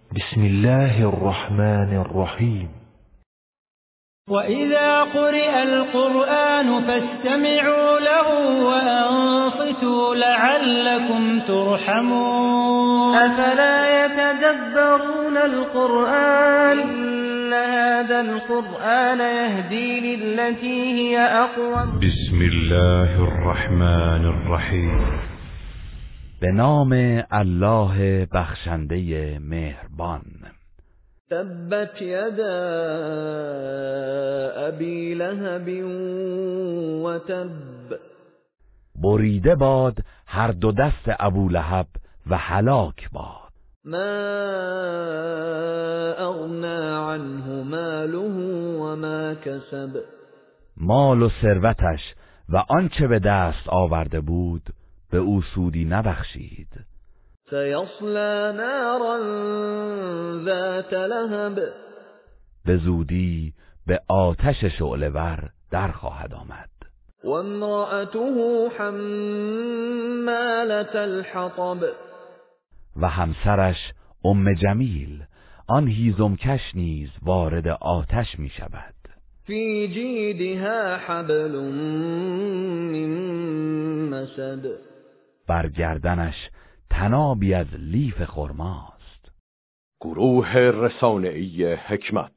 بسم الله الرحمن الرحیم. وإذا قرئ القرآن فاستمعوا له وأنصتوا لعلكم ترحمون. أفلا يتدبرون القرآن إن هذا القرآن يهدي للتي هي أقوم. بسم الله الرحمن الرحیم. به نام الله بخشنده مهربان. تبت یدا ابی لهب و تب. بریده باد هر دو دست ابولهب و هلاک باد. ما اغنى عنه ماله و ما کسب. مال و ثروتش و آنچه به دست آورده بود به او سودی نبخشید. سیصلی نارا ذات لهب. به زودی به آتش شعله‌ور در خواهد آمد. و امرأته حمالة الحطب. و همسرش ام جمیل آن هیزمکش نیز وارد آتش می شود. فی جیدها حبل من مسد. بر گردنش تنابی از لیف خرماست. گروه رسانه‌ای حکمت.